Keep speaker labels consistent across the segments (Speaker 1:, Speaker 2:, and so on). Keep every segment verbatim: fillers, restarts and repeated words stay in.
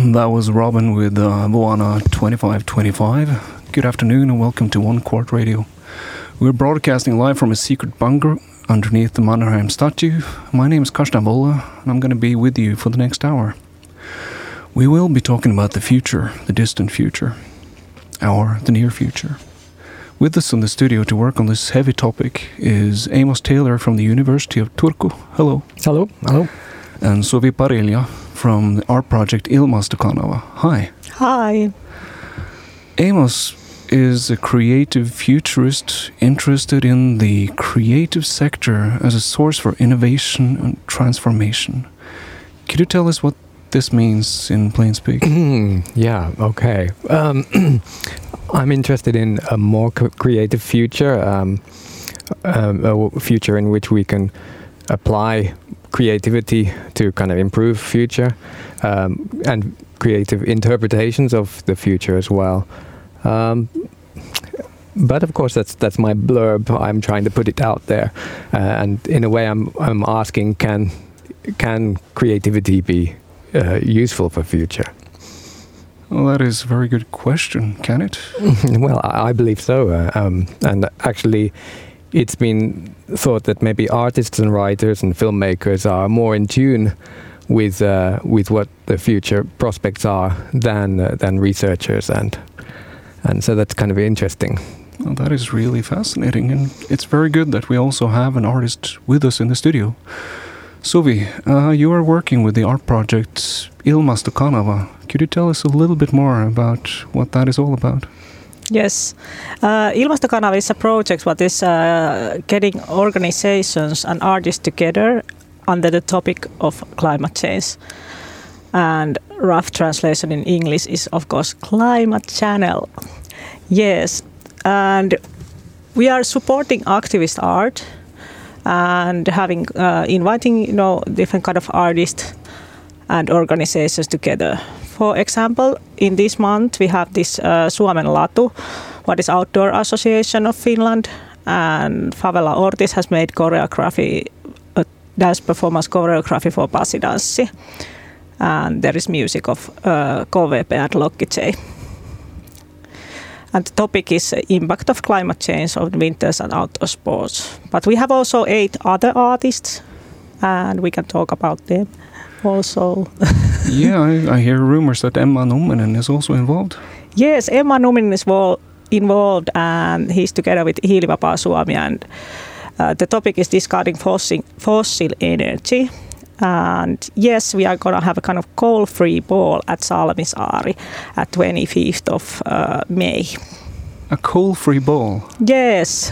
Speaker 1: That was Robin with uh, Moana twenty-five twenty-five. Good afternoon and welcome to One Court Radio. We're broadcasting live from a secret bunker underneath the Mannerheim statue. My name is Karsten Bolle and I'm going to be with you for the next hour. We will be talking about the future, the distant future, or the near future. With us in the studio to work on this heavy topic is Amos Taylor from the University of Turku. Hello.
Speaker 2: Hello. Hello.
Speaker 1: And Suvi Parilja from the art project Ilmastokanava. Hi.
Speaker 3: Hi.
Speaker 1: Amos is a creative futurist interested in the creative sector as a source for innovation and transformation. Could you tell us what this means in plain speak?
Speaker 2: Yeah, okay. Um, I'm interested in a more co- creative future, um, um, a future in which we can apply creativity to kind of improve future um, and creative interpretations of the future as well. Um, but of course, that's that's my blurb. I'm trying to put it out there, uh, and in a way, I'm I'm asking, can can creativity be uh, useful for future?
Speaker 1: Well, that is a very good question. Can it?
Speaker 2: Well, I, I believe so, uh, um, and actually, it's been thought that maybe artists and writers and filmmakers are more in tune with uh, with what the future prospects are than uh, than researchers, and and so that's kind of interesting.
Speaker 1: Well, that is really fascinating, and it's very good that we also have an artist with us in the studio. Suvi, uh, you are working with the art project Ilmastokanava. Could you tell us a little bit more about what that is all about?
Speaker 3: Yes. Uh, Ilmastokanava is a project that is uh, getting organizations and artists together under the topic of climate change. And rough translation in English is, of course, climate channel. Yes. And we are supporting activist art and having uh, inviting, you know, different kind of artists and organizations together. For example, in this month we have this uh, Suomen Latu, what is Outdoor Association of Finland, and Favela Ortiz has made choreography, a dance performance choreography for Pasidanssi, and there is music of uh, K V P and Lokki J. And the topic is uh, impact of climate change on winters and outdoor sports. But we have also eight other artists, and we can talk about them also.
Speaker 1: Yeah, I, I hear rumors that Emma Numminen is also involved.
Speaker 3: Yes, Emma Numminen is vol- involved, and he's together with Hiilivapaa Suomi, and uh, the topic is discarding fossil, fossil energy. And yes, we are going to have a kind of coal-free ball at Salmisaari at twenty-fifth of uh, May.
Speaker 1: A coal-free ball?
Speaker 3: Yes.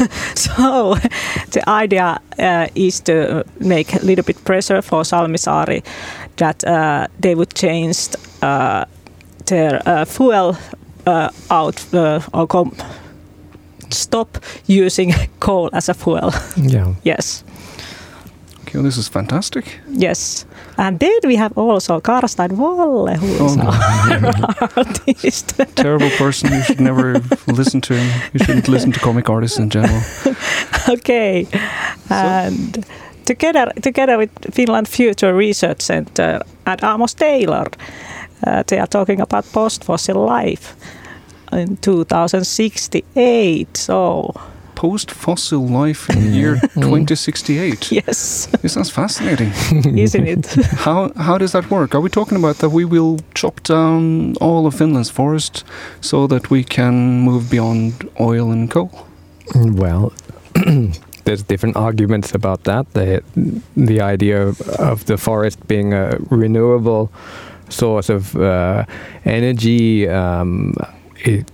Speaker 3: So the idea uh, is to make a little bit pressure for Salmisaari that uh, they would change uh, their uh, fuel uh, out uh, or com- stop using coal as a fuel.
Speaker 2: Yeah.
Speaker 3: Yes.
Speaker 1: Okay, this is fantastic.
Speaker 3: Yes. And then we have also Karsten Wolle, who is
Speaker 1: Oh, no.
Speaker 3: our artist.
Speaker 1: Terrible person. You should never listen to him. You shouldn't listen to comic artists in general.
Speaker 3: Okay. And together together with Finland Future Research Center and Amos Taylor, uh, they are talking about post-fossil life in two thousand sixty-eight. So
Speaker 1: Post-fossil life in the year twenty sixty-eight.
Speaker 3: yes,
Speaker 1: This sounds fascinating.
Speaker 3: isn't it?
Speaker 1: How how does that work? Are we talking about that we will chop down all of Finland's forest so that we can move beyond oil and coal?
Speaker 2: Well, there's different arguments about that. The the idea of, of the forest being a renewable source of uh, energy um, it,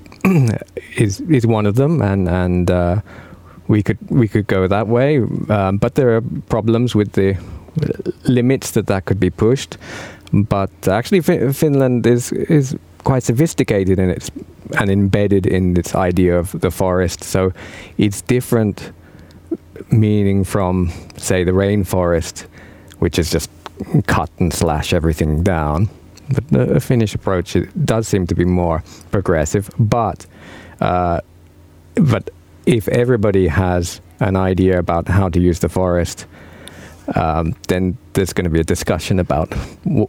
Speaker 2: is is one of them, and and uh, we could we could go that way. Um, but there are problems with the limits that that could be pushed. But actually, Fi- Finland is is quite sophisticated in its and embedded in its idea of the forest. So it's different meaning from, say, the rainforest, which is just cut and slash everything down. But the Finnish approach, it does seem to be more progressive. But uh, but if everybody has an idea about how to use the forest, um, then there's going to be a discussion about w-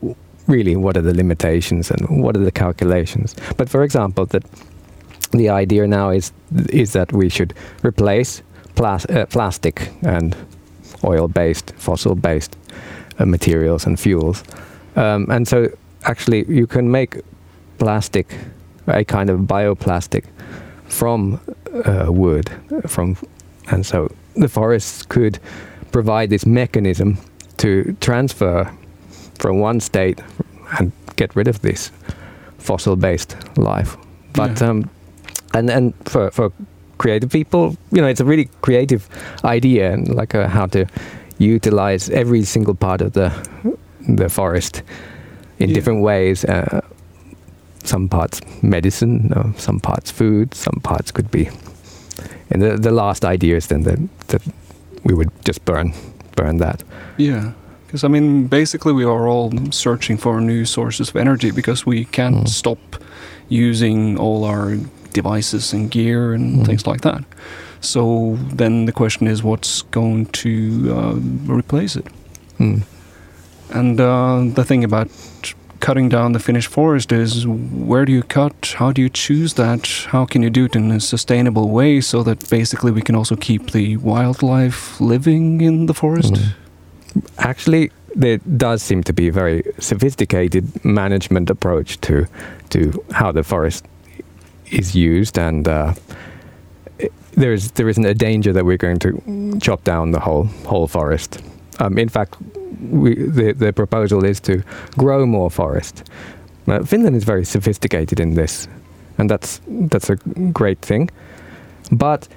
Speaker 2: really what are the limitations and what are the calculations. But for example, that the idea now is is that we should replace plas- uh, plastic and oil-based, fossil-based uh, materials and fuels. Um, and so actually you can make plastic, a kind of bioplastic, from uh, wood, from, and so the forests could provide this mechanism to transfer from one state and get rid of this fossil-based life. But
Speaker 1: Yeah.
Speaker 2: um, and and for for creative people, you know, it's a really creative idea, and like uh, how to utilize every single part of the the forest in
Speaker 1: Yeah.
Speaker 2: different ways. Uh, some parts medicine, uh, some parts food, some parts could be. And the the last idea is then that that we would just burn burn that.
Speaker 1: Yeah. Because, I mean, basically we are all searching for new sources of energy because we can't
Speaker 2: Mm.
Speaker 1: stop using all our devices and gear and
Speaker 2: Mm.
Speaker 1: things like that. So then the question is, what's going to uh, replace it?
Speaker 2: Mm.
Speaker 1: And uh, the thing about cutting down the Finnish forest is, where do you cut? How do you choose that? How can you do it in a sustainable way so that basically we can also keep the wildlife living in the forest?
Speaker 2: Mm. Actually, there does seem to be a very sophisticated management approach to to how the forest is used, and uh, there is there isn't a danger that we're going to chop down the whole whole forest. Um, in fact, we, the the proposal is to grow more forest. Uh, Finland is very sophisticated in this, and that's that's a great thing. But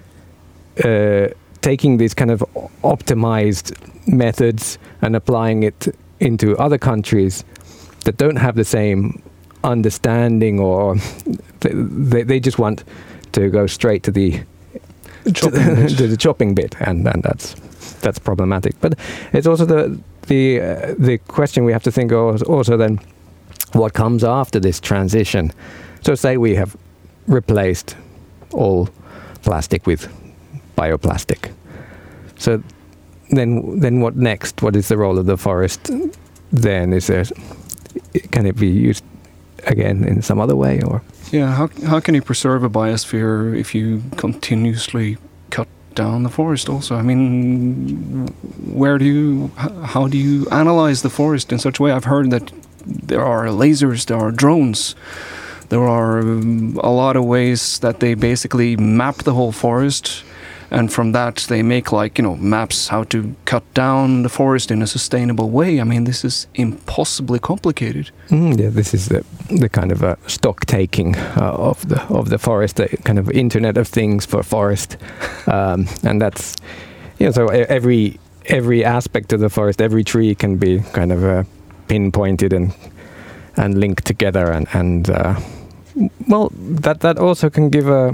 Speaker 2: uh, taking these kind of optimized methods and applying it into other countries that don't have the same understanding, or they they just want to go straight to the
Speaker 1: Chopping bit.
Speaker 2: to the chopping bit, and, and that's that's problematic. But it's also the the uh, the question we have to think of also then, what comes after this transition. So say we have replaced all plastic with bioplastic. So then then what next? What is the role of the forest then? Is there, can it be used again in some other way, or?
Speaker 1: Yeah, how how can you preserve a biosphere if you continuously cut down the forest also? I mean, where do you, how do you analyze the forest in such a way? I've heard that there are lasers, there are drones, there are um, a lot of ways that they basically map the whole forest, and from that they make, like, you know, maps how to cut down the forest in a sustainable way. I mean, this is impossibly complicated.
Speaker 2: Mm, yeah, this is the the kind of a stock taking uh, of the of the forest, the kind of Internet of Things for forest, um, and that's, you know, so every every aspect of the forest, every tree can be kind of uh, pinpointed and and linked together, and and uh, well, that that also can give a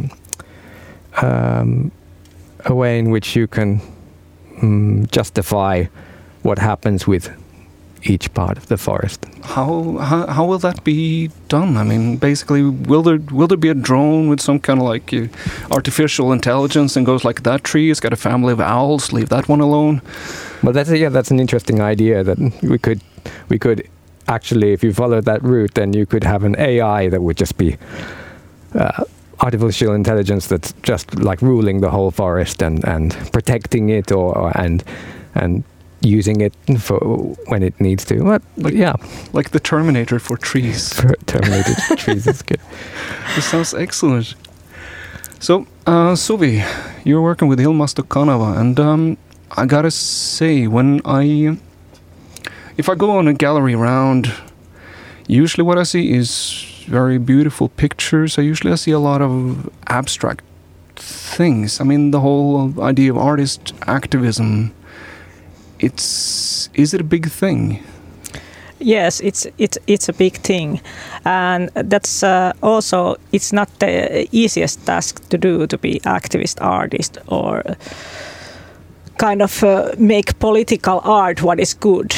Speaker 2: um, a way in which you can um, justify what happens with each part of the forest.
Speaker 1: How, how how will that be done? I mean, basically, will there will there be a drone with some kind of like uh, artificial intelligence and goes like, that tree has got a family of owls, leave that one alone?
Speaker 2: Well, that's a, yeah, that's an interesting idea that we could we could actually, if you follow that route, then you could have an A I that would just be uh, artificial intelligence that's just like ruling the whole forest and, and protecting it, or, or and and using it for when it needs to. But
Speaker 1: Like-
Speaker 2: yeah,
Speaker 1: Like the Terminator for trees.
Speaker 2: for terminated trees is good.
Speaker 1: This sounds excellent. So, uh, Suvi, you're working with Ilmastokanava, and um, I gotta say, when I, if I go on a gallery round, usually what I see is very beautiful pictures. I usually I see a lot of abstract things. I mean, the whole idea of artist activism. It's is it a big thing?
Speaker 3: Yes, it's it's it's a big thing, and that's uh, also it's not the easiest task to do, to be activist artist or kind of uh, make political art what is good.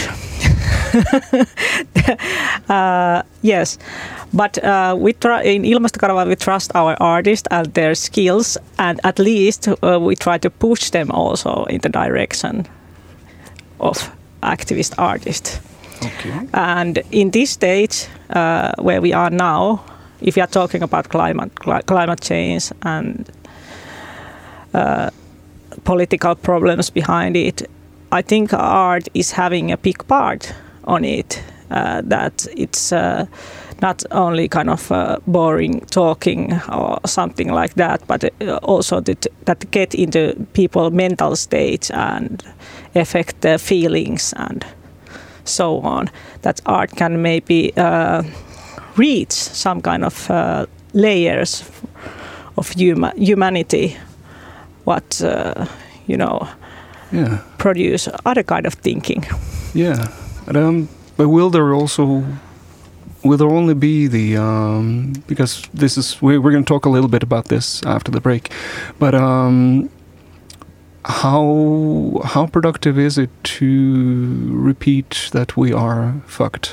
Speaker 3: uh, yes, but uh, we try in Ilmastokanava we trust our artists and their skills, and at least uh, we try to push them also in the direction of activist artist.
Speaker 1: Okay.
Speaker 3: And in this stage uh, where we are now, if you are talking about climate cli- climate change and uh, political problems behind it, I think art is having a big part on it. Uh, that it's uh, not only kind of uh, boring talking or something like that, but also that, that get into people's mental state and affect their feelings and so on. That art can maybe uh, reach some kind of uh, layers of huma- humanity, what uh, you know,
Speaker 1: yeah.
Speaker 3: produce other kind of thinking.
Speaker 1: Yeah, but, um, but will there also will there only be the um, because this is we, we're going to talk a little bit about this after the break, but um, how how productive is it to repeat that we are fucked?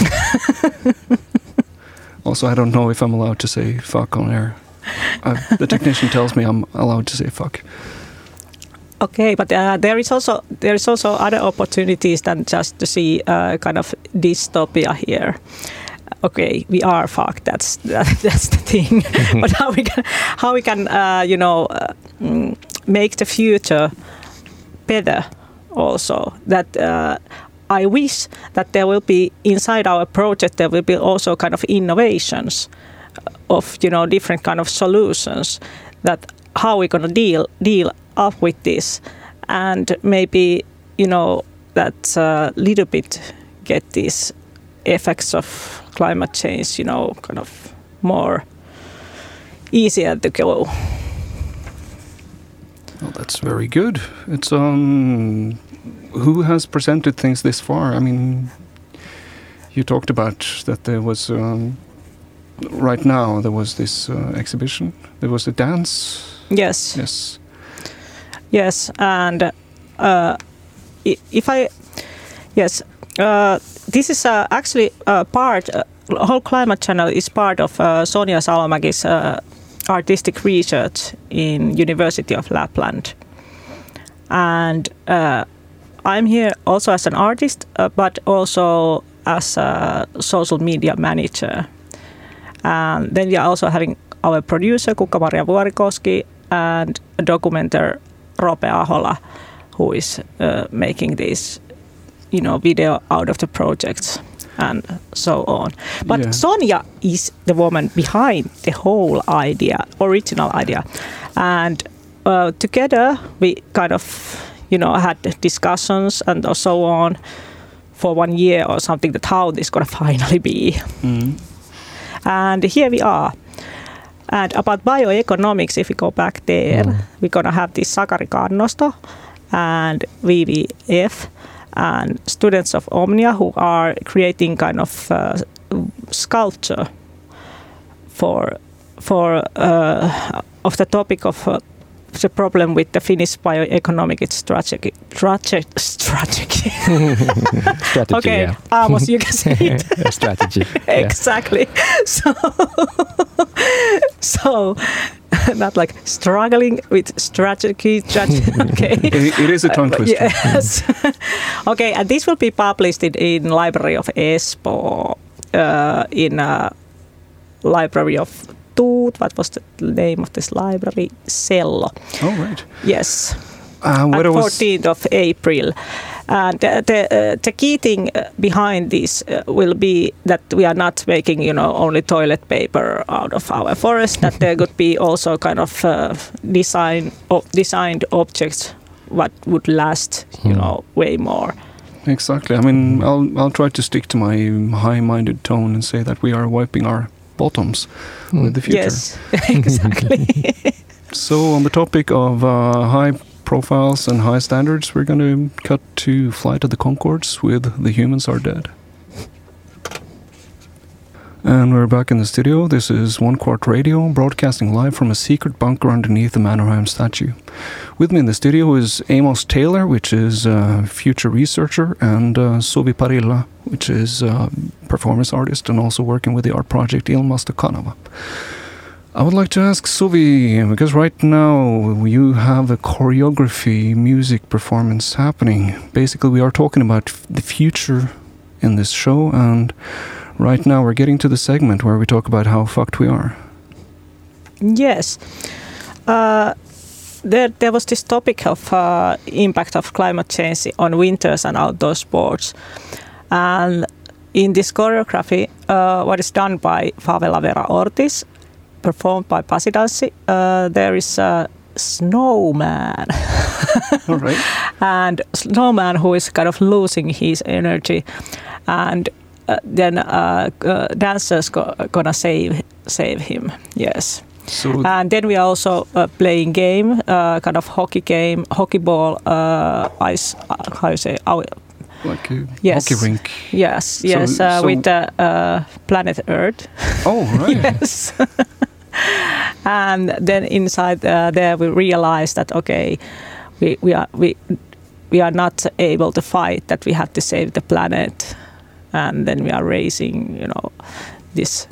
Speaker 1: Also, I don't know if I'm allowed to say fuck on air. Uh, the technician tells me I'm allowed to say fuck.
Speaker 3: Okay, but uh, there is also there is also other opportunities than just to see uh, kind of dystopia here. Okay, we are fucked. That's that, that's the thing. But how we can how we can uh, you know uh, make the future better also. That uh, I wish that there will be inside our project there will be also kind of innovations of you know different kind of solutions that how we're gonna deal deal up with this, and maybe you know that a uh, little bit get these effects of climate change you know kind of more easier to go.
Speaker 1: Well, that's very good. It's um who has presented things this far? I mean, you talked about that there was um, right now there was this uh, exhibition. There was a dance.
Speaker 3: Yes.
Speaker 1: Yes.
Speaker 3: Yes, and uh, if I yes, uh, this is uh, actually a part. Uh, whole climate channel is part of uh, Sonja Salomäki's uh, artistic research in University of Lapland, and uh, I'm here also as an artist, uh, but also as a social media manager. And then we are also having our producer Kukka-Maria Vuorikoski and a documenter Rope Ahola, who is uh, making this, you know, video out of the projects and so on. But
Speaker 1: yeah.
Speaker 3: Sonja is the woman behind the whole idea, original idea, and uh, together we kind of, you know, had discussions and so on for one year or something that how this gonna finally be.
Speaker 1: Mm.
Speaker 3: And here we are. And about bioeconomics, if we go back there, mm. we're gonna have this Sakari Kannosto and V V F and students of Omnia who are creating kind of uh, sculpture for for uh, of the topic of uh, the problem with the Finnish bioeconomic strategy. Strategy. Strategy.
Speaker 2: strategy
Speaker 3: okay,
Speaker 2: yeah.
Speaker 3: Amos, you can say it.
Speaker 2: strategy.
Speaker 3: Exactly. So, so not like struggling with strategy. strategy. Okay.
Speaker 1: It, it is a tongue twister.
Speaker 3: Uh, yes. Okay, and this will be published in, in Library of Espoo, uh, in a Library of Tuut. What was the name of this library? Cello.
Speaker 1: Oh, right.
Speaker 3: Yes.
Speaker 1: Uh, what
Speaker 3: on
Speaker 1: was
Speaker 3: fourteenth of April. And the the, uh, the key thing behind this uh, will be that we are not making, you know, only toilet paper out of our forest. That there could be also kind of uh, design of designed objects what would last, you
Speaker 2: Hmm.
Speaker 3: know, way more.
Speaker 1: Exactly. I mean, I'll I'll try to stick to my high-minded tone and say that we are wiping our bottoms
Speaker 2: Mm.
Speaker 1: with the future.
Speaker 3: Yes, exactly.
Speaker 1: So on the topic of uh, high profiles and high standards, we're going to cut to Flight of the Conchords with The Humans Are Dead. And we're back in the studio. This is One Quart Radio, broadcasting live from a secret bunker underneath the Mannerheim statue. With me in the studio is Amos Taylor, which is a future researcher, and uh, Suvi Parilla, which is a performance artist and also working with the art project Ilmasta Kanava. I would like to ask Suvi, because right now you have a choreography music performance happening. Basically, we are talking about f- the future in this show, and right now we're getting to the segment where we talk about how fucked we are.
Speaker 3: Yes. Uh, there, there was this topic of uh, impact of climate change on winters and outdoor sports. And in this choreography, uh, what is done by Favela Vera Ortiz, performed by Pasi Danssi, uh, there is a snowman.
Speaker 1: All right.
Speaker 3: And snowman who is kind of losing his energy. And uh, then uh, uh, dancers go, gonna save save him. Yes.
Speaker 1: So
Speaker 3: and then we are also uh, playing game, uh, kind of hockey game, hockey ball, uh, ice, uh, how you say, our,
Speaker 1: like a
Speaker 3: yes.
Speaker 1: hockey rink.
Speaker 3: Yes, yes,
Speaker 1: so,
Speaker 3: uh,
Speaker 1: so
Speaker 3: with the uh, planet Earth.
Speaker 1: Oh, right.
Speaker 3: Yes. And then inside uh, there we realized that okay, we we are we we are not able to fight. That we have to save the planet, and then we are raising, you know, this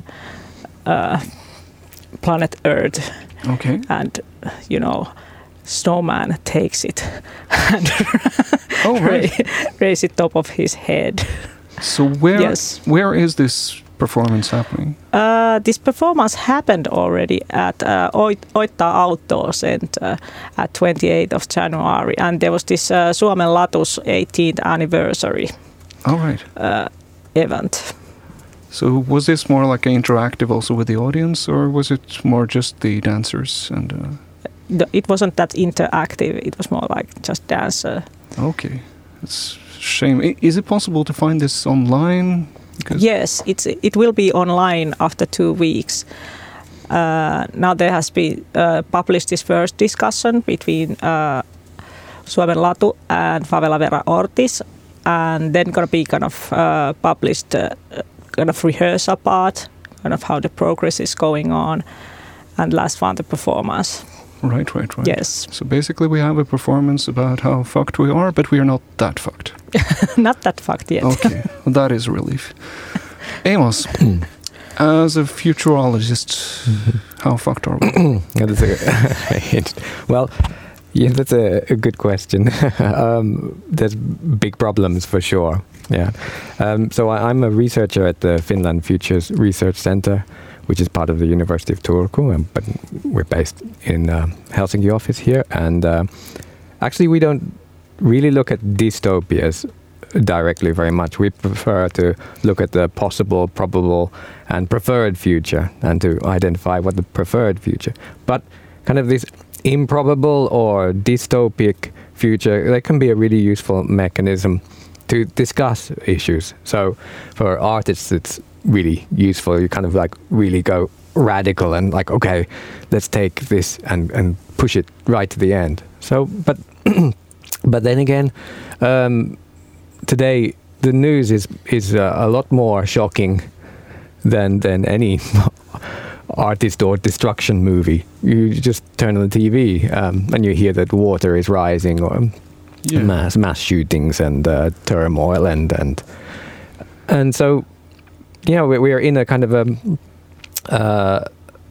Speaker 3: uh, planet Earth.
Speaker 1: Okay.
Speaker 3: And you know, snowman takes it and
Speaker 1: oh, right.
Speaker 3: raise it top of his head.
Speaker 1: So where
Speaker 3: yes.
Speaker 1: where is this performance happening?
Speaker 3: Uh, this performance happened already at uh, Oittaa Outdoor Center at twenty-eighth of January, and there was this uh, Suomen Latu's eighteenth anniversary
Speaker 1: All right.
Speaker 3: uh, event.
Speaker 1: So was this more like interactive also with the audience, or was it more just the dancers? And uh...
Speaker 3: It wasn't that interactive. It was more like just dance. Uh,
Speaker 1: okay, it's a shame. I- Is it possible to find this online? Because
Speaker 3: yes, it's it will be online after two weeks. Uh, now there has been uh, published this first discussion between uh, Suomen Latu and Favela Vera Ortiz, and then gonna be kind of uh, published uh, kind of rehearsal part, kind of how the progress is going on, and last one the performance.
Speaker 1: Right, right, right.
Speaker 3: Yes.
Speaker 1: So basically we have a performance about how fucked we are, but we are not that fucked.
Speaker 3: Not that fucked yet.
Speaker 1: Okay, well, that is a relief. Amos, as a futurologist, how fucked are we?
Speaker 2: Yeah, that's a, well, yeah, that's a, a good question. um, there's big problems for sure. Yeah. Um, so I, I'm a researcher at the Finland Futures Research Center, which is part of the University of Turku, um, but we're based in uh, Helsinki office here. And uh, actually, we don't really look at dystopias directly very much. We prefer to look at the possible, probable, and preferred future, and to identify what the preferred future. But kind of this improbable or dystopic future, that can be a really useful mechanism to discuss issues. So for artists, it's really useful. You kind of like really go radical and like, okay, let's take this and, and push it right to the end. So, but but then again, um, today the news is is uh, a lot more shocking than than any artist or destruction movie. You just turn on the T V um, and you hear that water is rising, or yeah. mass mass shootings and uh, turmoil and and and so. Yeah, we, we are in a kind of a, uh,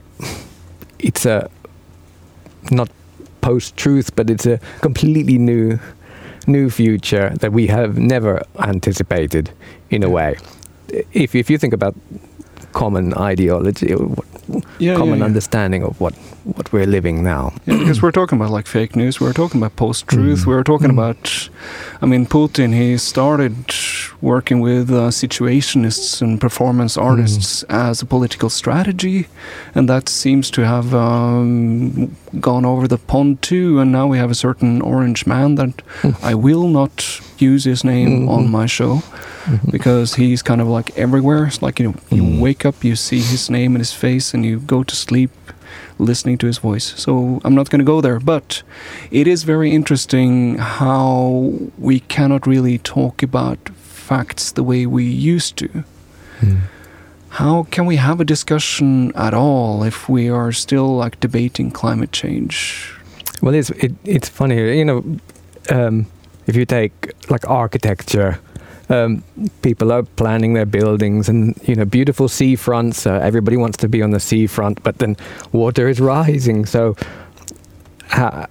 Speaker 2: it's a, not post-truth, but it's a completely new, new future that we have never anticipated in a way. If if you think about common ideology, yeah, common yeah, yeah. understanding of what, what we're living now.
Speaker 1: Yeah, because we're talking about like fake news, we're talking about post-truth, mm. we're talking mm. about, I mean, Putin, he started working with uh, situationists and performance artists mm. as a political strategy, and that seems to have um, gone over the pond too, and now we have a certain orange man that mm. I will not use his name mm-hmm. on my show, mm-hmm. because he's kind of like everywhere. It's like, you know, you mm. wake up, you see his name and his face, and you go to sleep listening to his voice. So I'm not going to go there, but it is very interesting how we cannot really talk about facts the way we used to. Mm. How can we have a discussion at all if we are still like debating climate change?
Speaker 2: Well, it's it, it's funny, you know, um, if you take like architecture, um, people are planning their buildings and, you know, beautiful seafronts. Uh, everybody wants to be on the seafront, but then water is rising. So, uh,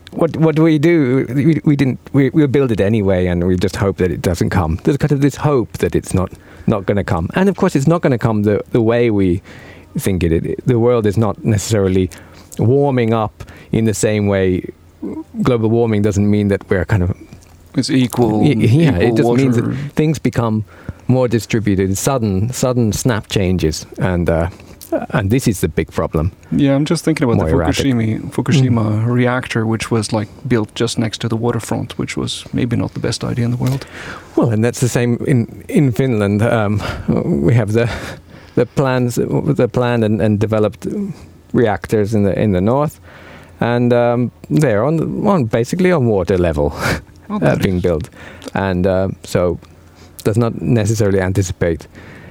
Speaker 2: what what do we do? We, we didn't. We we'll build it anyway, and we just hope that it doesn't come. There's kind of this hope that it's not not going to come, and of course, it's not going to come the the way we think it. it. The world is not necessarily warming up in the same way. Global warming doesn't mean that we're kind of
Speaker 1: it's equal.
Speaker 2: Y- yeah,
Speaker 1: equal
Speaker 2: it just
Speaker 1: water.
Speaker 2: means that things become more distributed, sudden sudden snap changes, and. Uh, And this is the big problem.
Speaker 1: Yeah, I'm just thinking about
Speaker 2: More
Speaker 1: the
Speaker 2: erratic.
Speaker 1: Fukushima, Fukushima mm. reactor, which was like built just next to the waterfront, which was maybe not the best idea in the world.
Speaker 2: Well, and that's the same in in Finland. Um, we have the the plans, the planned and, and developed reactors in the in the north, and um, they're on on basically on water level
Speaker 1: oh,
Speaker 2: uh, being built, and uh, so does not necessarily anticipate.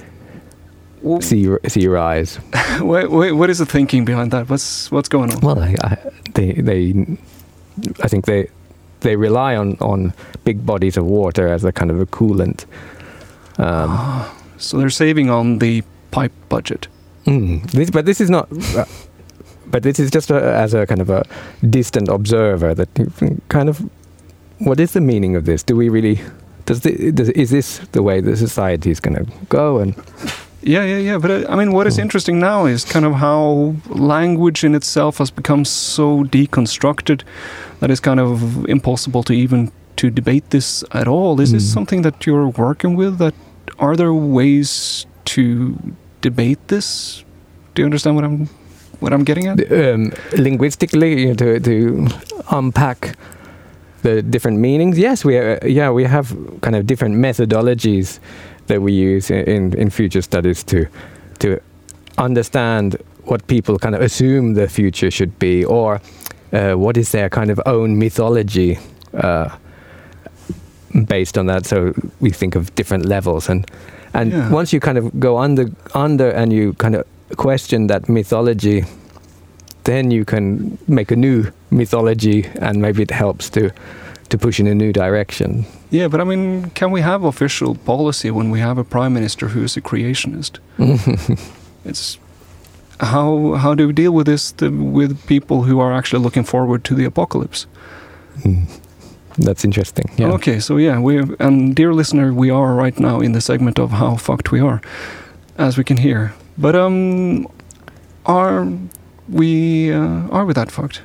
Speaker 1: Well,
Speaker 2: sea sea rise.
Speaker 1: wait, wait, what is the thinking behind that? What's what's going on?
Speaker 2: Well, I, I, they they I think they they rely on, on big bodies of water as a kind of a coolant. Um,
Speaker 1: ah, so they're saving on the pipe budget.
Speaker 2: Mm, this, but this is not. Uh, but this is just a, as a kind of a distant observer that you kind of. What is the meaning of this? Do we really? Does, the, does is this the way the society is going to go? And
Speaker 1: yeah, yeah, yeah. But uh, I mean, what is interesting now is kind of how language in itself has become so deconstructed that it's kind of impossible to even to debate this at all. Is mm. this something that you're working with? That are there ways to debate this? Do you understand what I'm what I'm getting at?
Speaker 2: Um, linguistically, you know, to to unpack the different meanings. Yes, we uh, yeah we have kind of different methodologies that we use in, in future studies to to understand what people kind of assume the future should be, or uh, what is their kind of own mythology uh, based on that. So we think of different levels, and and
Speaker 1: yeah.
Speaker 2: once you kind of go under under and you kind of question that mythology, then you can make a new mythology, and maybe it helps to to push in a new direction.
Speaker 1: Yeah, but I mean, can we have official policy when we have a prime minister who is a creationist? It's how how do we deal with this the, with people who are actually looking forward to the apocalypse?
Speaker 2: Mm. That's interesting. Yeah.
Speaker 1: Okay, so yeah, we and dear listener, we are right now in the segment of how fucked we are, as we can hear. But um, are we uh, are we that fucked?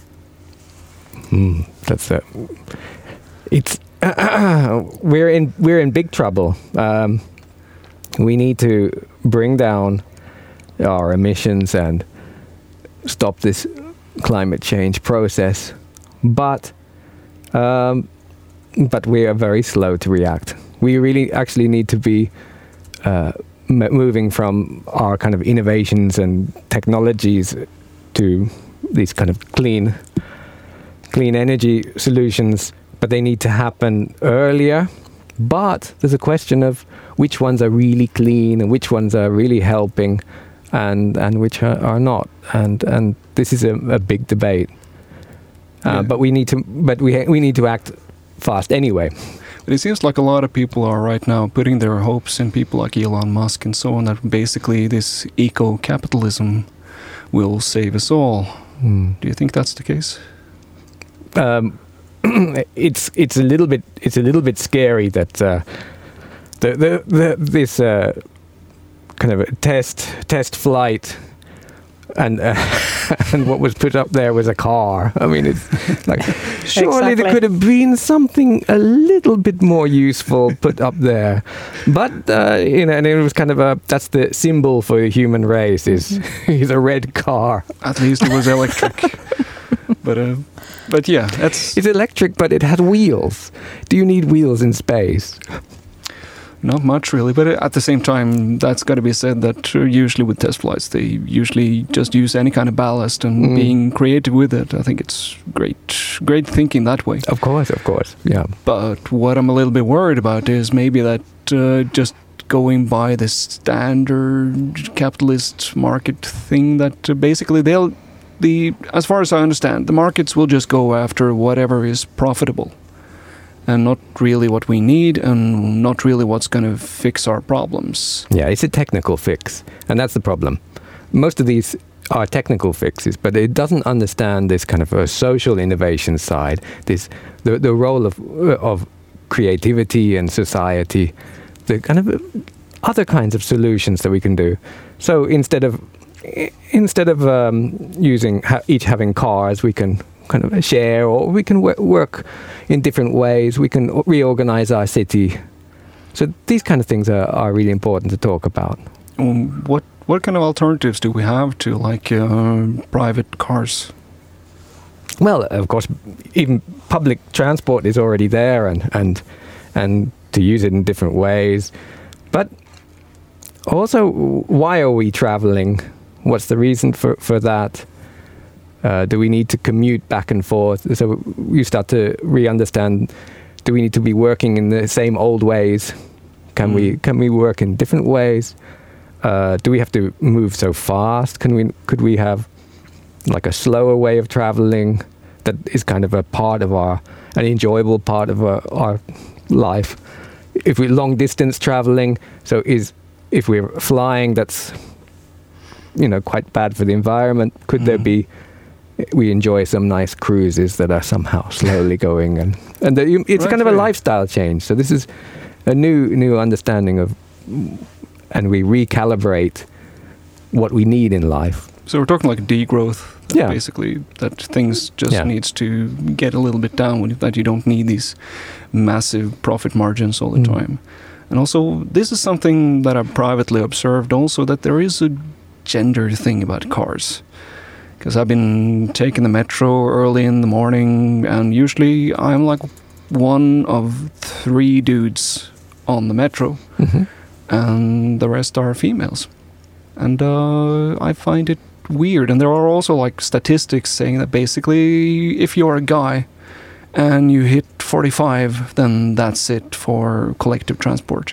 Speaker 2: Mm, that's a. It's uh, we're in we're in big trouble. Um, we need to bring down our emissions and stop this climate change process, but um, but we are very slow to react. We really actually need to be uh, m- moving from our kind of innovations and technologies to these kind of clean. clean energy solutions, but they need to happen earlier. But there's a question of which ones are really clean and which ones are really helping, and and which are, are not. And and this is a, a big debate. Uh, yeah. But we need to but we we need to act fast anyway.
Speaker 1: But it seems like a lot of people are right now putting their hopes in people like Elon Musk and so on, that basically this eco-capitalism will save us all. Mm. Do you think that's the case?
Speaker 2: Um, it's it's a little bit it's a little bit scary that uh, the, the the this uh, kind of a test test flight and uh, and what was put up there was a car. I mean, it's like surely
Speaker 3: exactly.
Speaker 2: there could have been something a little bit more useful put up there, but uh, you know, and it was kind of a that's the symbol for the human race is is a red car.
Speaker 1: At least it was electric. But uh, but yeah, that's
Speaker 2: it's electric, but it had wheels. Do you need wheels in space?
Speaker 1: Not much, really. But at the same time, that's got to be said that usually with test flights, they usually just use any kind of ballast and mm. being creative with it. I think it's great, great thinking that way.
Speaker 2: Of course, of course, yeah.
Speaker 1: But what I'm a little bit worried about is maybe that uh, just going by the standard capitalist market thing that uh, basically they'll the as far as I understand, the markets will just go after whatever is profitable. And not really what we need, and not really what's going to fix our problems.
Speaker 2: Yeah, it's a technical fix, and that's the problem. Most of these are technical fixes, but it doesn't understand this kind of a social innovation side, this the the role of of creativity and society, the kind of other kinds of solutions that we can do. So instead of instead of um, using ha- each having cars, we can kind of share, or we can w- work in different ways. We can reorganize our city. So these kind of things are, are really important to talk about.
Speaker 1: Um, what what kind of alternatives do we have to like uh, private cars?
Speaker 2: Well, of course, even public transport is already there, and and and to use it in different ways. But also, why are we traveling? What's the reason for, for that? Uh, do we need to commute back and forth? So you start to re-understand, do we need to be working in the same old ways? Can mm. we can we work in different ways? Uh, do we have to move so fast? Can we could we have like a slower way of traveling that is kind of a part of our, an enjoyable part of our, our life? If we're long distance traveling, so is if we're flying, that's, you know, quite bad for the environment. Could mm. there be, we enjoy some nice cruises that are somehow slowly going, and and the, it's right, kind of a lifestyle change. So this is a new new understanding of, and we recalibrate what we need in life.
Speaker 1: So we're talking like degrowth,
Speaker 2: yeah.
Speaker 1: basically, that things just
Speaker 2: yeah. needs
Speaker 1: to get a little bit down, that you don't need these massive profit margins all the mm. time. And also, this is something that I've privately observed also, that there is a gender thing about cars. Because I've been taking the metro early in the morning, and usually I'm like one of three dudes on the metro, mm-hmm. and the rest are females. And uh, I find it weird. And there are also like statistics saying that basically if you're a guy and you hit forty-five, then that's it for collective transport.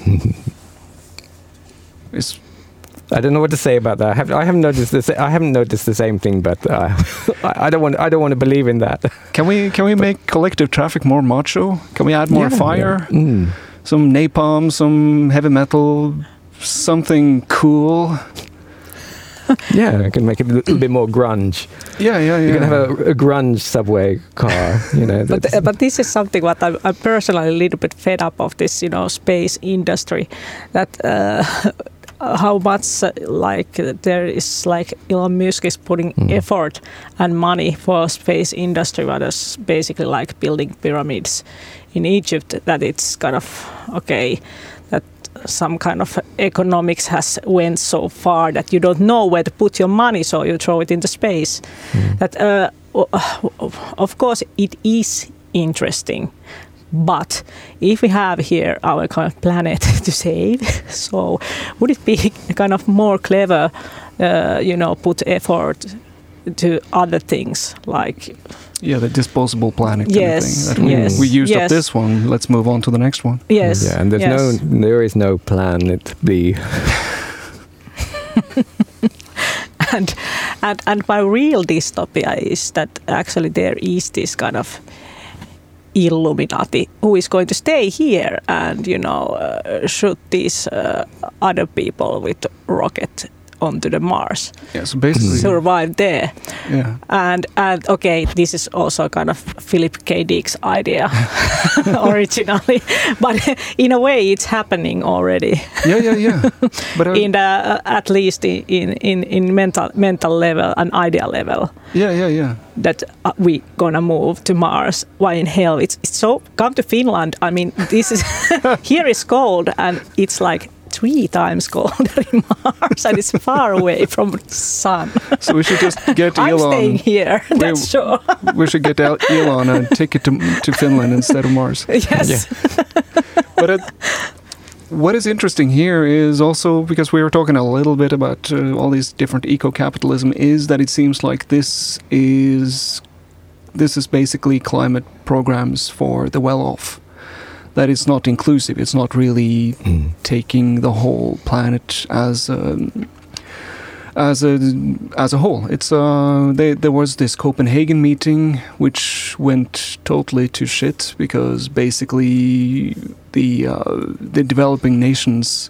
Speaker 1: It's,
Speaker 2: I don't know what to say about that. I have I haven't noticed this. I haven't noticed the same thing, but uh, I, I don't want I don't want to believe in that.
Speaker 1: Can we can we
Speaker 2: but,
Speaker 1: make collective traffic more macho? Can we add more
Speaker 2: yeah,
Speaker 1: fire?
Speaker 2: Yeah. Mm.
Speaker 1: Some napalm, some heavy metal, something cool.
Speaker 2: Yeah, I can make it a little bit more grunge.
Speaker 1: Yeah, yeah, yeah.
Speaker 2: You can have a, a grunge subway car, you know.
Speaker 3: but uh, but this is something what I'm, I'm personally a little bit fed up of, this, you know, space industry. That uh, how much uh, like there is like Elon Musk is putting mm. effort and money for space industry, what is basically like building pyramids in Egypt. That it's kind of okay. That some kind of economics has went so far that you don't know where to put your money, so you throw it into space. Mm. That uh, of course it is interesting, but if we have here our kind of planet to save, so would it be kind of more clever, uh, you know, put effort to other things like.
Speaker 1: Yeah, the disposable planet.
Speaker 3: Yes,
Speaker 1: kind of thing. That
Speaker 3: yes.
Speaker 1: We, we used
Speaker 3: yes.
Speaker 1: up this one. Let's move on to the next one.
Speaker 3: Yes.
Speaker 2: Yeah, and there's
Speaker 3: yes.
Speaker 2: no, there is no planet B.
Speaker 3: and and and my real dystopia is that actually there is this kind of Illuminati who is going to stay here and, you know, uh, shoot these uh, other people with rocket onto the Mars.
Speaker 1: Yeah, so basically
Speaker 3: survive there.
Speaker 1: Yeah.
Speaker 3: And and okay, this is also kind of Philip K. Dick's idea originally, but in a way it's happening already.
Speaker 1: Yeah, yeah, yeah. But
Speaker 3: in the uh, at least in in in mental mental level and idea level.
Speaker 1: Yeah, yeah, yeah.
Speaker 3: That uh, we gonna move to Mars. Why in hell? It's, it's so. Come to Finland. I mean, this is here is cold and it's like three times colder in Mars, and it's far away from the sun.
Speaker 1: So we should just get
Speaker 3: I'm
Speaker 1: Elon.
Speaker 3: I'm staying here, that's we, sure.
Speaker 1: We should get Elon a ticket to, to Finland instead of Mars.
Speaker 3: Yes.
Speaker 1: Yeah. But it, what is interesting here is also, because we were talking a little bit about uh, all these different eco-capitalism, is that it seems like this is this is basically climate programs for the well-off. That it's not inclusive. It's not really mm. taking the whole planet as a, as a as a whole. It's uh, they, there was this Copenhagen meeting which went totally to shit because basically the uh, the developing nations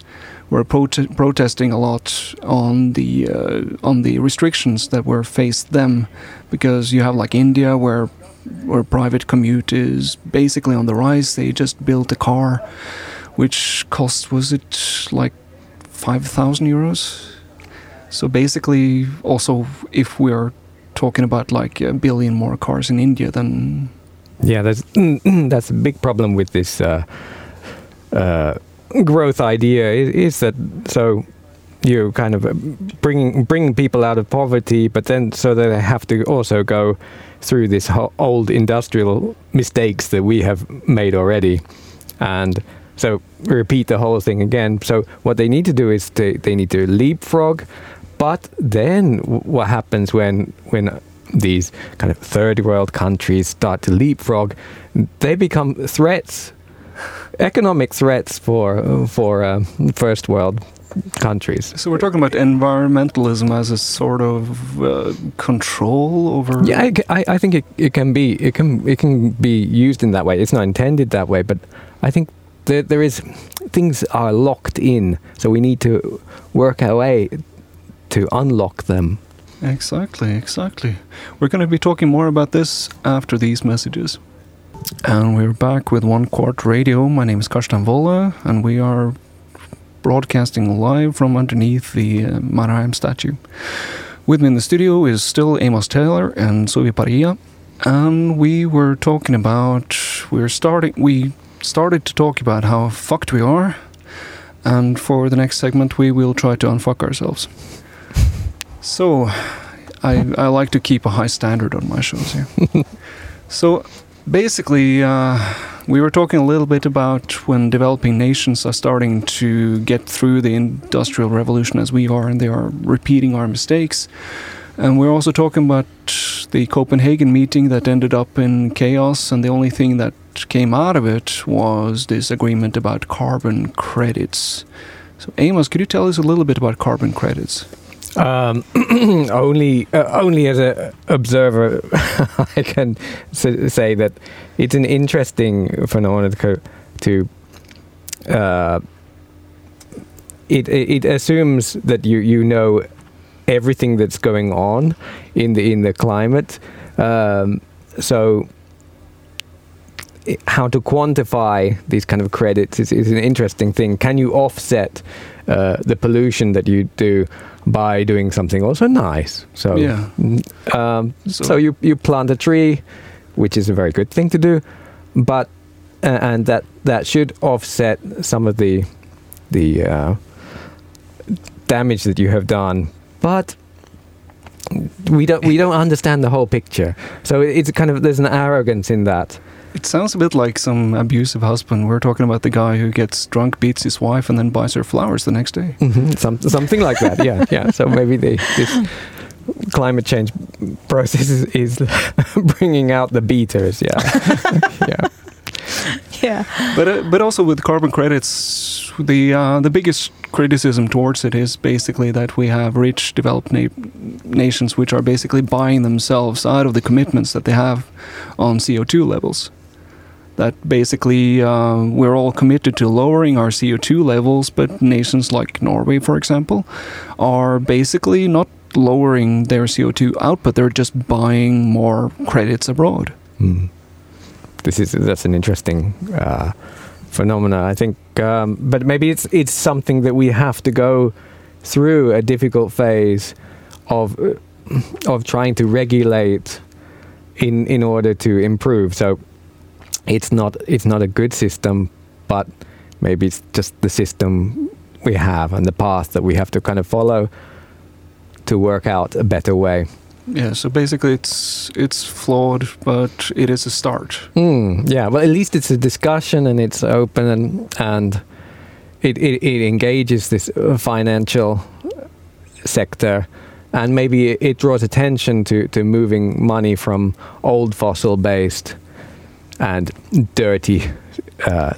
Speaker 1: were prote- protesting a lot on the uh, on the restrictions that were faced them, because you have like India where where private commute is basically on the rise. They just built a car which cost, was it like five thousand euros? So basically, also if we are talking about like a billion more cars in India, then
Speaker 2: yeah, that's that's a big problem with this uh, uh, growth idea. Is, is that so? You kind of bringing bringing people out of poverty, but then so that they have to also go through this ho- old industrial mistakes that we have made already, and so repeat the whole thing again. So what they need to do is they, they need to leapfrog, but then w- what happens when when these kind of third world countries start to leapfrog? They become threats, economic threats for for uh, first world countries.
Speaker 1: So we're talking about environmentalism as a sort of uh, control over.
Speaker 2: Yeah, I, I, I think it, it can be it can it can be used in that way. It's not intended that way, but I think there there is things are locked in, so we need to work our way to unlock them.
Speaker 1: Exactly, exactly. We're going to be talking more about this after these messages. And we're back with One Quart Radio. My name is Karsten Volle, and we are broadcasting live from underneath the uh, Mannerheim statue. With me in the studio is still Amos Taylor and Suvi Paria, and we were talking about we're starting we started to talk about how fucked we are, and for the next segment we will try to unfuck ourselves. So I I like to keep a high standard on my shows here. So basically uh, we were talking a little bit about when developing nations are starting to get through the industrial revolution as we are, and they are repeating our mistakes. And we're also talking about the Copenhagen meeting that ended up in chaos, and the only thing that came out of it was this agreement about carbon credits. So Amos, could you tell us a little bit about carbon credits?
Speaker 2: Um, only, uh, only as an observer, I can s- say that it's an interesting phenomenon to. to uh, it, it it assumes that you you know everything that's going on in the in the climate. Um, so, it, how to quantify these kind of credits is, is an interesting thing. Can you offset uh, the pollution that you do by doing something also nice? So,
Speaker 1: yeah.
Speaker 2: um,
Speaker 1: so,
Speaker 2: so you you plant a tree, which is a very good thing to do, but uh, and that that should offset some of the the uh, damage that you have done. But we don't we don't understand the whole picture. So it's kind of there's an arrogance in that.
Speaker 1: It sounds a bit like some abusive husband. We're talking about the guy who gets drunk, beats his wife, and then buys her flowers the next day.
Speaker 2: Mm-hmm. Some, something like that, yeah. yeah. So maybe the, this climate change process is, is bringing out the beaters, yeah. yeah.
Speaker 3: Yeah.
Speaker 1: But uh, but also with carbon credits, the uh, the biggest criticism towards it is basically that we have rich developed na- nations which are basically buying themselves out of the commitments that they have on C O two levels. That basically uh, we're all committed to lowering our C O two levels, but nations like Norway, for example, are basically not lowering their C O two output. They're just buying more credits abroad.
Speaker 2: Mm. This is that's an interesting uh, phenomena, I think. Um, but maybe it's it's something that we have to go through a difficult phase of uh, of trying to regulate in in order to improve. So it's not it's not a good system, but maybe it's just the system we have and the path that we have to kind of follow to work out a better way.
Speaker 1: Yeah, so basically it's it's flawed, but it is a start.
Speaker 2: Mm, yeah, well, at least it's a discussion and it's open and and it, it, it engages this financial sector, and maybe it draws attention to, to moving money from old fossil-based and dirty uh,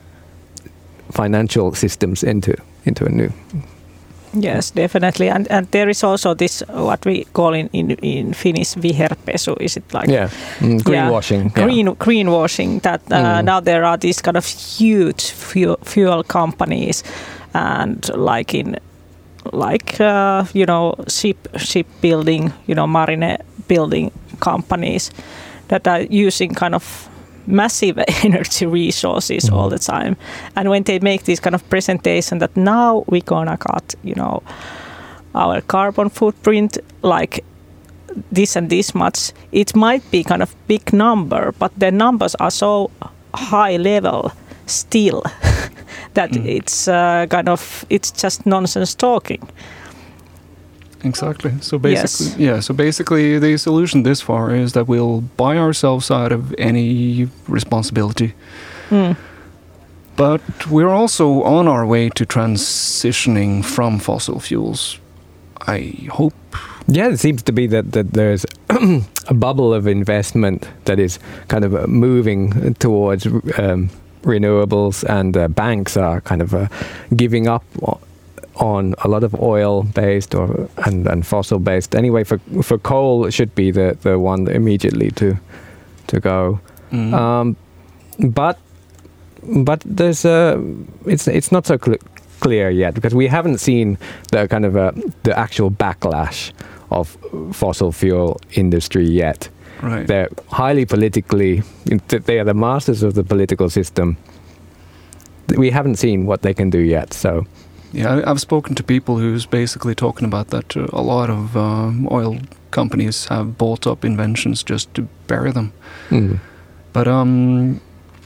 Speaker 2: financial systems into into a new.
Speaker 3: Yes, definitely, and and there is also this what we call in in, in Finnish viherpesu. Is it like
Speaker 2: yeah mm, greenwashing?
Speaker 3: Yeah, green
Speaker 2: yeah.
Speaker 3: greenwashing. That uh, mm. now there are these kind of huge fuel, fuel companies and like in like uh, you know ship shipbuilding, you know marine building companies that are using kind of massive energy resources mm-hmm. all the time. And when they make this kind of presentation that now we're gonna cut, you know, our carbon footprint like this and this much, it might be kind of big number, but the numbers are so high level still that mm. it's uh, kind of it's just nonsense talking.
Speaker 1: Exactly. So basically,
Speaker 3: yes.
Speaker 1: yeah. So basically, the solution this far is that we'll buy ourselves out of any responsibility.
Speaker 3: Mm.
Speaker 1: But we're also on our way to transitioning from fossil fuels. I hope.
Speaker 2: Yeah, it seems to be that, that there's a bubble of investment that is kind of uh, moving towards um, renewables, and uh, banks are kind of uh, giving up on a lot of oil-based or and, and fossil-based. Anyway, for for coal, it should be the, the one immediately to to go. Mm. Um, but but there's a it's it's not so cl- clear yet, because we haven't seen the kind of uh, the actual backlash of fossil fuel industry yet.
Speaker 1: Right.
Speaker 2: They're highly politically, they are the masters of the political system. We haven't seen what they can do yet. So
Speaker 1: yeah, I've spoken to people who's basically talking about that uh, a lot of um, oil companies have bought up inventions just to bury them.
Speaker 2: Mm.
Speaker 1: But um,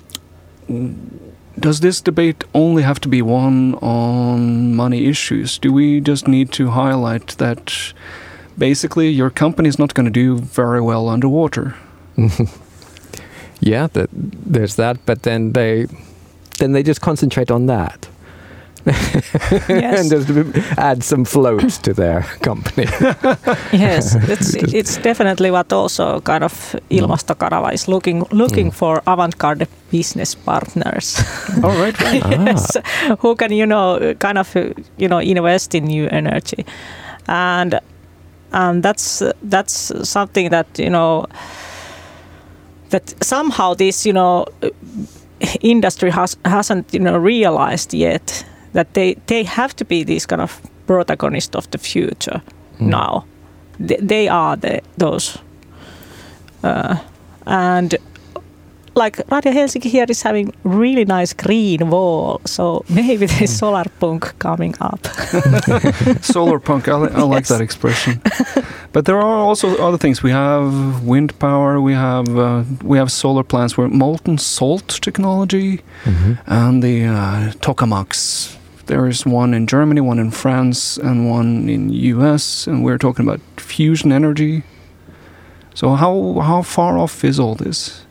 Speaker 1: does this debate only have to be one on money issues? Do we just need to highlight that basically your company is not going to do very well underwater?
Speaker 2: Yeah, that, there's that, but then they then they just concentrate on that.
Speaker 3: Yes.
Speaker 2: And just add some floats to their company.
Speaker 3: Yes, it's, it's definitely what also kind of Ilmastokanava is looking looking mm. for avant-garde business partners.
Speaker 1: All right, right.
Speaker 3: Yes, ah. Who can, you know, kind of, you know, invest in new energy. And and that's that's something that, you know, that somehow this, you know, industry has hasn't, you know, realized yet that they, they have to be these kind of protagonists of the future mm. now. They, they are the those. Uh, and like Radio Helsinki here is having really nice green wall, so maybe there's solar punk coming up.
Speaker 1: Solar punk, I, li- I like yes. that expression. But there are also other things. We have wind power, we have uh, we have solar plants where molten salt technology mm-hmm. and the uh, tokamaks. There is one in Germany, one in France, and one in U S, and we're talking about fusion energy. So how how far off is all this?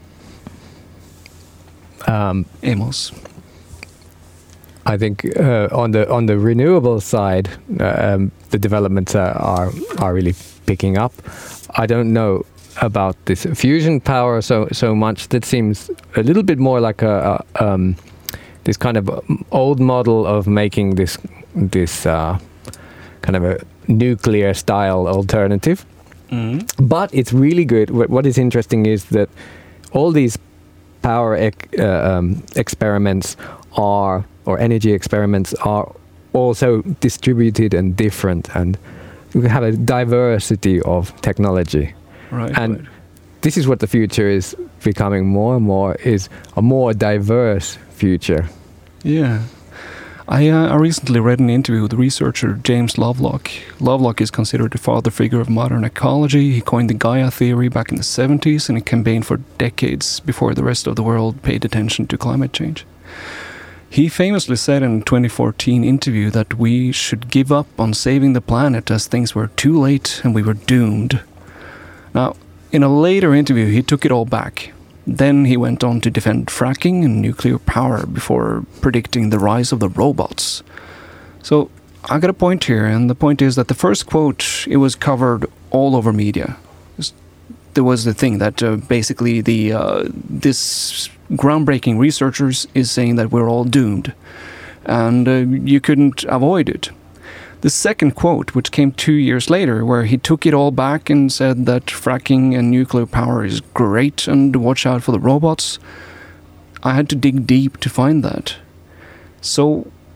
Speaker 2: Um,
Speaker 1: Amos,
Speaker 2: I think uh, on the on the renewable side, uh, um, the developments are, are are really picking up. I don't know about this fusion power so so much. That seems a little bit more like a, a um, this kind of old model of making this this uh, kind of a nuclear style alternative.
Speaker 1: Mm-hmm.
Speaker 2: But it's really good. What is interesting is that all these power ec- uh, um, experiments are, or energy experiments are also distributed and different, and we have a diversity of technology.
Speaker 1: Right.
Speaker 2: And
Speaker 1: right.
Speaker 2: this is what the future is becoming more and more, is a more diverse future.
Speaker 1: Yeah. I, uh, I recently read an interview with researcher James Lovelock. Lovelock is considered the father figure of modern ecology. He coined the Gaia theory back in the seventies, and he campaigned for decades before the rest of the world paid attention to climate change. He famously said in a twenty fourteen interview that we should give up on saving the planet as things were too late and we were doomed. Now, in a later interview, he took it all back. Then he went on to defend fracking and nuclear power before predicting the rise of the robots. So I got a point here, and the point is that the first quote, it was covered all over media. There was the thing that uh, basically the uh, this groundbreaking researchers is saying that we're all doomed, and uh, you couldn't avoid it. The second quote, which came two years later, where he took it all back and said that fracking and nuclear power is great and watch out for the robots, I had to dig deep to find that. So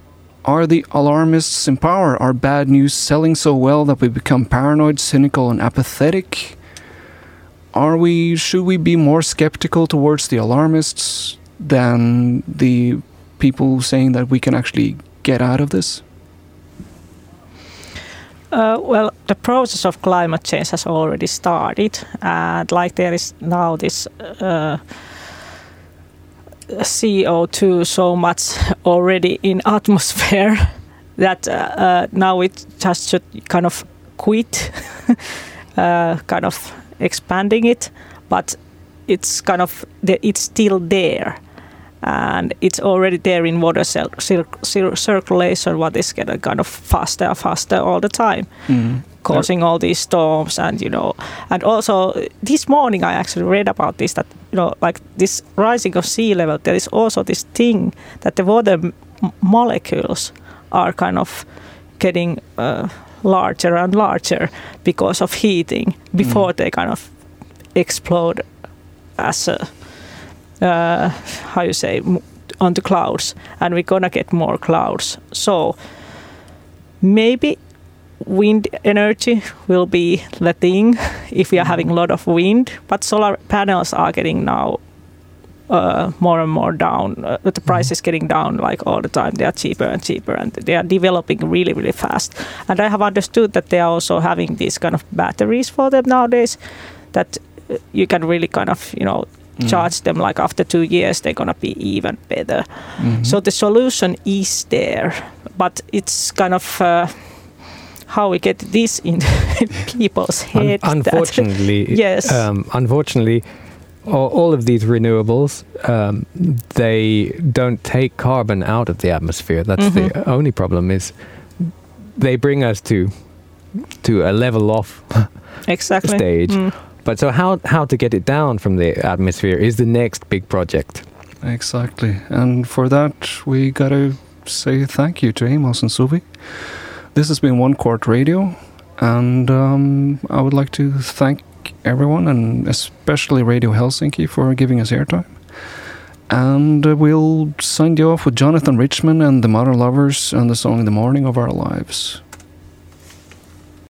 Speaker 1: Are the alarmists in power? Are bad news selling so well that we become paranoid, cynical, and apathetic? Are we? Should we be more skeptical towards the alarmists than the people saying that we can actually get out of this?
Speaker 3: Uh, well, the process of climate change has already started, and like there is now this uh, C O two so much already in atmosphere that uh, uh, now it just should kind of quit, uh, kind of expanding it, but it's kind of the, it's still there. And it's already there in water cir- cir- cir- circulation, what is getting kind of faster and faster all the time, mm. causing all these storms. And, you know, and also this morning I actually read about this, that, you know, like this rising of sea level, there is also this thing that the water m- molecules are kind of getting uh, larger and larger because of heating before mm. they kind of explode as a Uh, how you say, on the clouds, and we're gonna get more clouds. So maybe wind energy will be the thing if we are having a lot of wind, but solar panels are getting now uh, more and more down. Uh, the price is getting down like all the time. They are cheaper and cheaper, and they are developing really, really fast. And I have understood that they are also having these kind of batteries for them nowadays that you can really kind of, you know, charge mm. them like after two years they're gonna be even better. Mm-hmm. So the solution is there, but it's kind of uh, how we get this in people's heads.
Speaker 2: Un- unfortunately,
Speaker 3: yes.
Speaker 2: Um, unfortunately, all, all of these renewables, um, they don't take carbon out of the atmosphere. That's mm-hmm. the only problem. Is they bring us to to a level off
Speaker 3: exactly.
Speaker 2: stage.
Speaker 3: Mm.
Speaker 2: But so how how to get it down from the atmosphere is the next big project.
Speaker 1: Exactly. And for that, we got to say thank you to Amos and Suvi. This has been One Court Radio. And um, I would like to thank everyone, and especially Radio Helsinki, for giving us airtime. And uh, we'll sign you off with Jonathan Richman and the Modern Lovers and the song In the Morning of Our Lives.